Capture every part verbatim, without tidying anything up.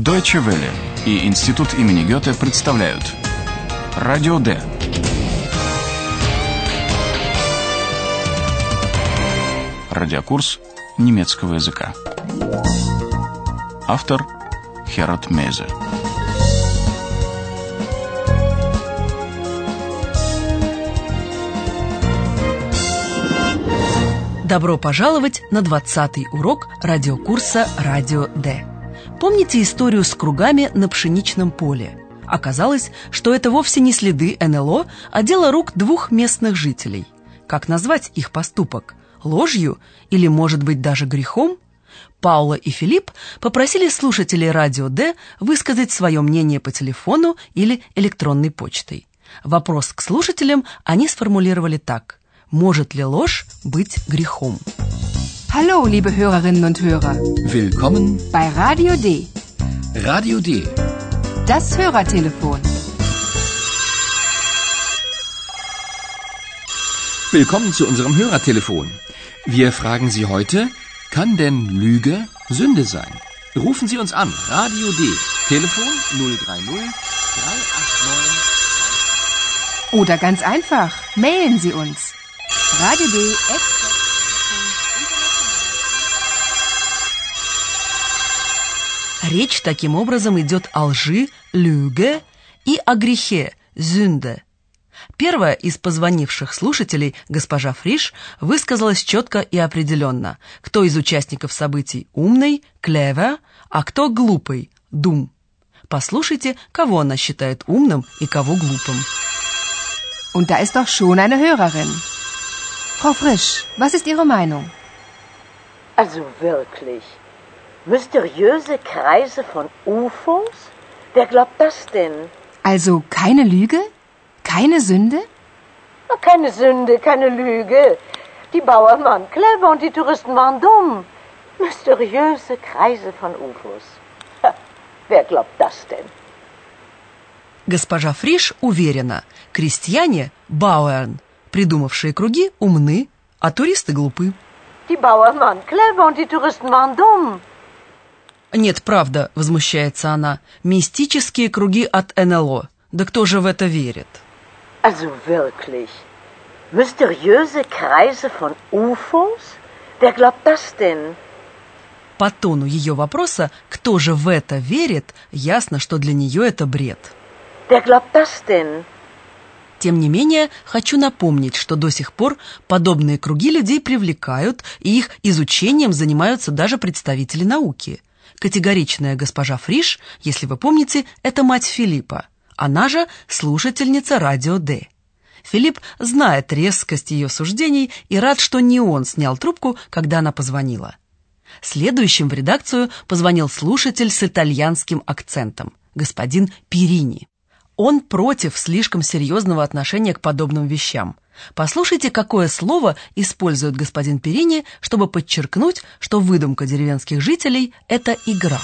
Deutsche Welle и Институт имени Гёте представляют Радио Д. Радиокурс немецкого языка. Автор Херат Мейзе. Добро пожаловать на двадцатый урок радиокурса «Радио Д». Помните историю с кругами на пшеничном поле? Оказалось, что это вовсе не следы эн эл о, а дело рук двух местных жителей. Как назвать их поступок? Ложью или, может быть, даже грехом? Паула и Филипп попросили слушателей «Радио Д» высказать свое мнение по телефону или электронной почтой. Вопрос к слушателям они сформулировали так. Может ли ложь быть грехом? Hallo, liebe Hörerinnen und Hörer. Willkommen bei Radio D. Radio D. Das Hörertelefon. Willkommen zu unserem Hörertelefon. Wir fragen Sie heute, kann denn Lüge Sünde sein? Rufen Sie uns an. Radio D. Telefon null drei null drei acht neun. Oder ganz einfach, mailen Sie uns. Radio D. Речь таким образом идет о лжи, Lüge, и о грехе, Sünde. Первая из позвонивших слушателей, госпожа Фриш, высказалась четко и определенно, кто из участников событий умный, clever, а кто глупый, dumm. Послушайте, кого она считает умным и кого глупым. Und da ist doch schon eine Hörerin. Frau Frisch, was ist Ihre Meinung? Also wirklich. Mysteriöse Kreise von U F Os? Wer glaubt das denn? Also keine Lüge? Keine Sünde? Keine Sünde, keine Lüge. Die Bauern waren clever und die Touristen waren dumm. Mysteriöse Kreise von U F Os. Ha, wer glaubt das denn? Госпожа Фриш уверена, крестьяне, Bauern, придумавшие круги, умны, а туристы глупы. Die Bauern waren clever und die Touristen waren dumm. Нет, правда, возмущается она, мистические круги от эн эл о. Да кто же в это верит? Also wirklich. Mysteriöse Kreise von U F Os? Wer glaubt das denn? По тону ее вопроса, кто же в это верит, ясно, что для нее это бред. Wer glaubt das denn? Тем не менее, хочу напомнить, что до сих пор подобные круги людей привлекают, и их изучением занимаются даже представители науки. Категоричная госпожа Фриш, если вы помните, это мать Филиппа. Она же слушательница Радио Д. Филипп знает резкость ее суждений и рад, что не он снял трубку, когда она позвонила. Следующим в редакцию позвонил слушатель с итальянским акцентом, господин Перини. Он против слишком серьезного отношения к подобным вещам. Послушайте, какое слово использует господин Перини, чтобы подчеркнуть, что выдумка деревенских жителей – это игра.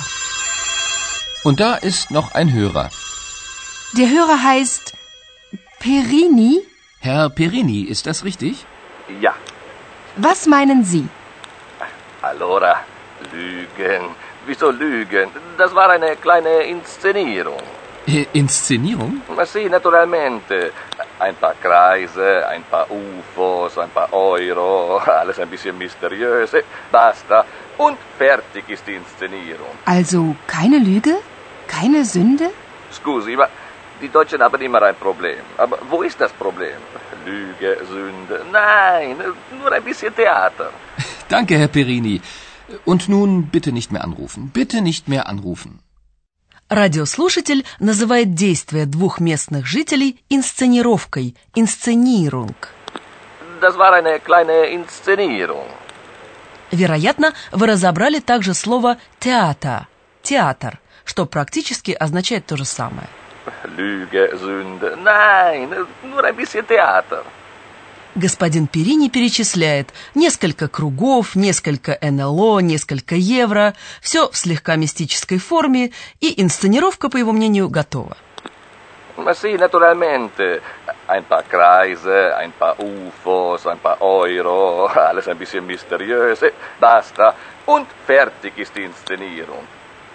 Und da ist noch ein Hörer. Der Hörer heißt Perini? Herr Perini, ist das richtig? Ja. Was meinen Sie? Allora, Lügen. Wieso Lügen? Das war eine kleine Inszenierung. Inszenierung? Sì, naturalmente. Ein paar Kreise, ein paar U F Os, ein paar Euro, alles ein bisschen mysteriös. Basta. Und fertig ist die Inszenierung. Also keine Lüge? Keine Sünde? Scusi, ma die Deutschen haben immer ein Problem. Aber wo ist das Problem? Lüge, Sünde? Nein, nur ein bisschen Theater. Danke, Herr Perini. Und nun bitte nicht mehr anrufen. Bitte nicht mehr anrufen. Радиослушатель называет действия двух местных жителей инсценировкой, Inszenierung. Das war eine kleine Inszenierung. Вероятно, вы разобрали также слово «театр», «театр», что практически означает то же самое. Lüge, Sünde. Nein, nur ein bisschen Theater. Господин Перини перечисляет несколько кругов, несколько эн эл о, несколько евро, все в слегка мистической форме, и инсценировка, по его мнению, готова. Sì, naturalmente. Ein paar Kreise, ein paar U F Os, ein paar Euro, alles ein bisschen mysteriös. Basta. Und fertig ist die Inszenierung.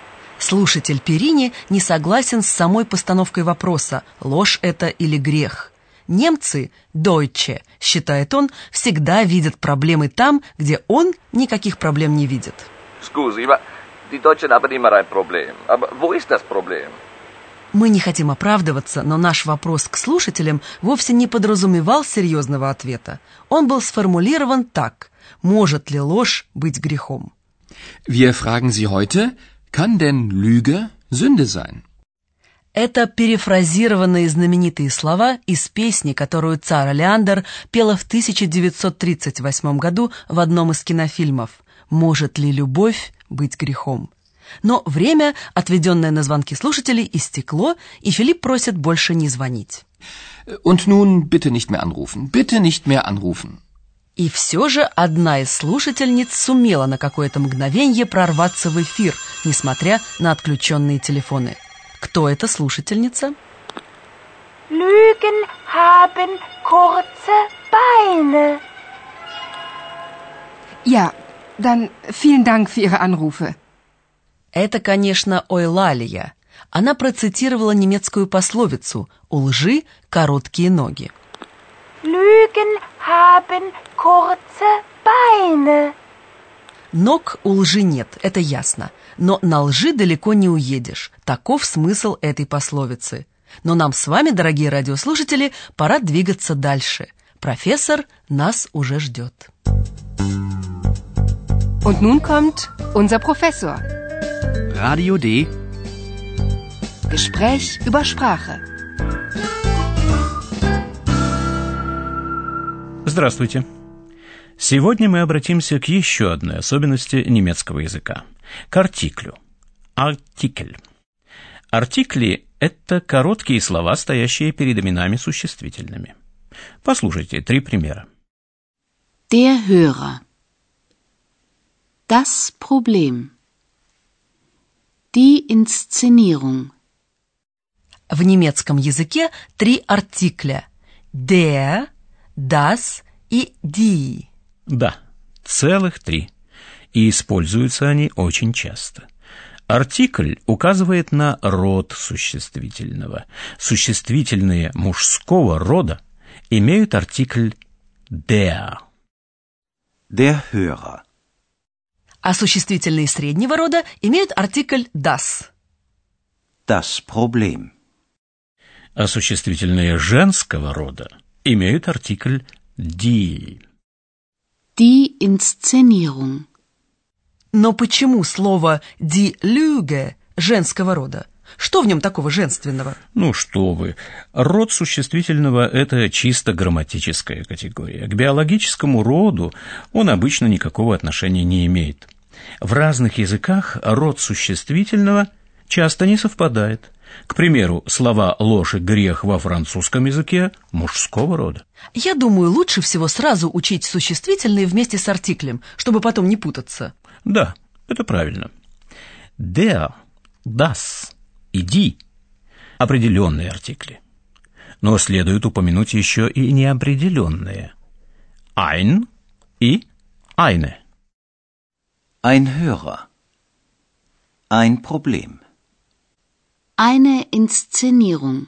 Слушатель Перини не согласен с самой постановкой вопроса, ложь это или грех. Немцы, Deutsche, считает он, всегда видят проблемы там, где он никаких проблем не видит. Scusi, ma die Deutschen haben immer ein Problem. Aber wo ist das Problem? Мы не хотим оправдываться, но наш вопрос к слушателям вовсе не подразумевал серьезного ответа. Он был сформулирован так: может ли ложь быть грехом? Wir fragen Sie heute, kann denn Lüge Sünde sein? Это перефразированные знаменитые слова из песни, которую Цара Леандер пела в тысяча девятьсот тридцать восьмом году в одном из кинофильмов «Может ли любовь быть грехом?». Но время, отведенное на звонки слушателей, истекло, и Филипп просит больше не звонить. Und nun bitte nicht mehr anrufen. Bitte nicht mehr anrufen. И все же одна из слушательниц сумела на какое-то мгновенье прорваться в эфир, несмотря на отключенные телефоны. Кто эта слушательница? Lügen haben kurze Beine. Ja, dann vielen Dank für Ihre Anrufe. Это, конечно, Ойлалия. Она процитировала немецкую пословицу «У лжи короткие ноги». Lügen haben kurze Beine. Ног у лжи нет, это ясно. Но на лжи далеко не уедешь. Таков смысл этой пословицы. Но нам с вами, дорогие радиослушатели, пора двигаться дальше. Профессор нас уже ждет. Und nun kommt unser Professor. Radio D. Gespräch über Sprache. Здравствуйте. Сегодня мы обратимся к еще одной особенности немецкого языка – к артиклю. Артикль. Артикли – это короткие слова, стоящие перед именами существительными. Послушайте три примера. Der Hörer. Das Problem. Die Inszenierung. В немецком языке три артикля – der, das и die. Да, целых три. И используются они очень часто. Артикль указывает на род существительного. Существительные мужского рода имеют артикль der. Der Hörer. А существительные среднего рода имеют артикль das. Das Problem. А существительные женского рода имеют артикль die. Die Inszenierung. Но почему слово die Lüge женского рода? Что в нем такого женственного? Ну что вы, род существительного – это чисто грамматическая категория. К биологическому роду он обычно никакого отношения не имеет. В разных языках род существительного часто не совпадает. К примеру, слова «ложь» и «грех» во французском языке мужского рода. Я думаю, лучше всего сразу учить существительные вместе с артиклем, чтобы потом не путаться. Да, это правильно. Der, das и die – определенные артикли. Но следует упомянуть еще и неопределенные. Ein и eine. Ein Hörer. Ein Problem. Eine Inszenierung.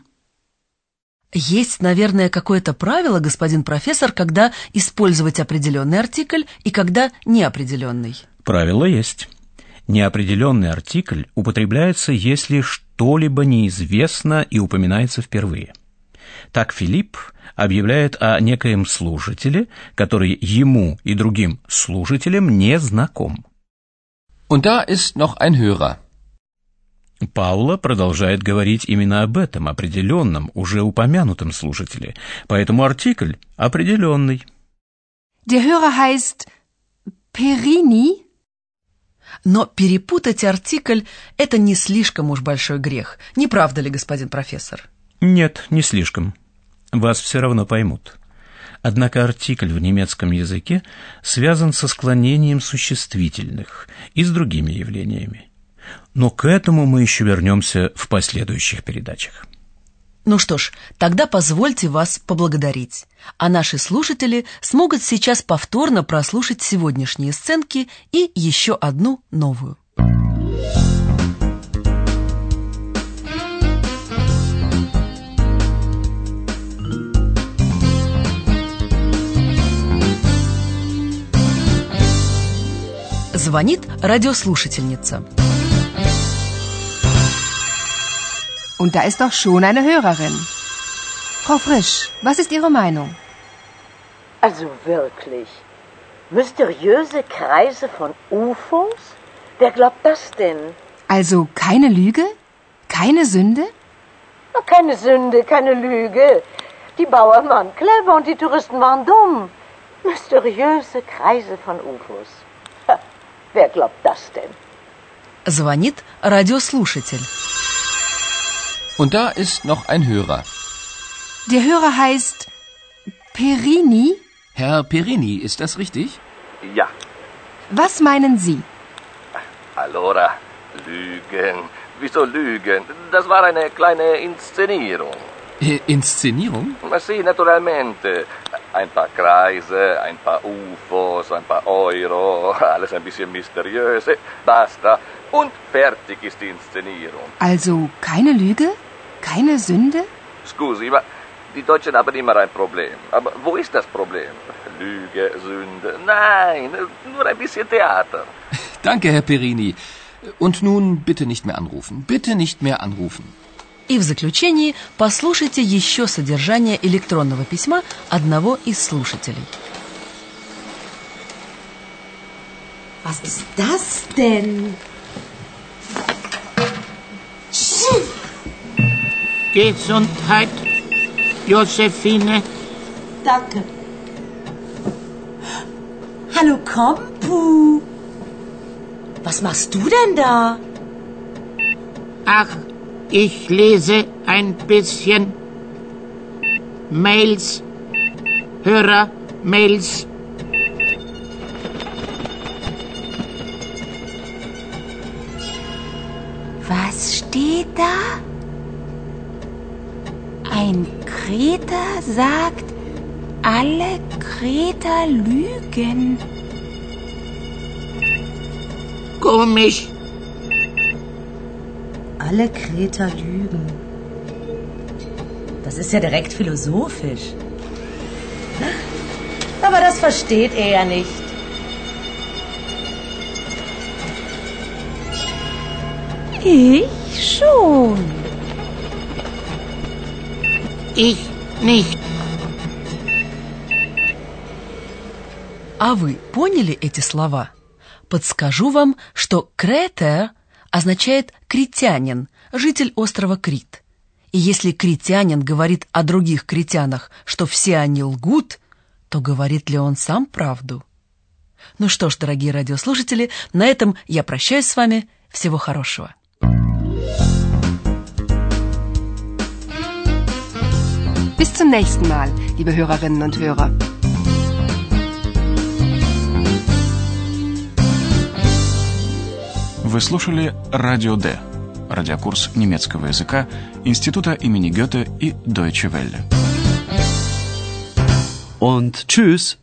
Есть, наверное, какое-то правило, господин профессор, когда использовать определенный артикль и когда неопределенный. Правило есть. Неопределенный артикль употребляется, если что-либо неизвестно и упоминается впервые. Так Филипп объявляет о некоем слушателе, который ему и другим слушателям не знаком. Und da ist noch ein Hörer. Паула продолжает говорить именно об этом определенном, уже упомянутом слушателе, поэтому артикль определенный. Der Hörer heißt Perini. Но перепутать артикль – это не слишком уж большой грех. Не правда ли, господин профессор? Нет, не слишком. Вас все равно поймут. Однако артикль в немецком языке связан со склонением существительных и с другими явлениями. Но к этому мы еще вернемся в последующих передачах. Ну что ж, тогда позвольте вас поблагодарить. А наши слушатели смогут сейчас повторно прослушать сегодняшние сценки и еще одну новую. Звонит радиослушательница. Und da ist doch schon eine Hörerin. Frau Frisch, was ist Ihre Meinung? Also wirklich. Mysteriöse Kreise von U F Os? Wer glaubt das denn? Also keine Lüge? Keine Sünde? Keine Sünde, keine Lüge. Die Bauern waren clever und die Touristen waren dumm. Mysteriöse Kreise von U F Os. Ha, wer glaubt das denn? Звонит радиослушатель. Und da ist noch ein Hörer. Der Hörer heißt Perini? Herr Perini, ist das richtig? Ja. Was meinen Sie? Allora, Lügen. Wieso Lügen? Das war eine kleine Inszenierung. Äh, Inszenierung? Ma sì, naturalmente. Ein paar Kreise, ein paar U F Os, ein paar Euro, alles ein bisschen mysteriös. Basta. Und fertig ist die Inszenierung. Also keine Lüge? Keine Sünde? Scusi, ma die Deutschen haben immer ein Problem. Aber wo ist das Problem? Lüge, Sünde? Nein, nur ein bisschen Theater. Danke, Herr Perini. Und nun bitte nicht mehr anrufen. Bitte nicht mehr anrufen. И в заключении послушайте еще содержание электронного письма одного из слушателей. Was ist das denn? Gesundheit, Josephine. Danke. Hallo, Kompu. Was machst du denn da? Ach, ich lese ein bisschen Mails, Hörer-Mails. Was steht da? Ein Kreter sagt, alle Kreter lügen. Komisch. Alle Kreter lügen. Das ist ja direkt philosophisch. Aber das versteht er ja nicht. Ich schon. Ich nicht. А вы поняли эти слова? Подскажу вам, что «кретер» означает «критянин», житель острова Крит. И если критянин говорит о других критянах, что все они лгут, то говорит ли он сам правду? Ну что ж, дорогие радиослушатели, на этом я прощаюсь с вами. Всего хорошего. Bis zum nächsten Mal, liebe Hörerinnen und Hörer. Вы слушали Радио Д, радиокурс немецкого языка Института имени Гёте и Deutsche Welle. Und tschüss.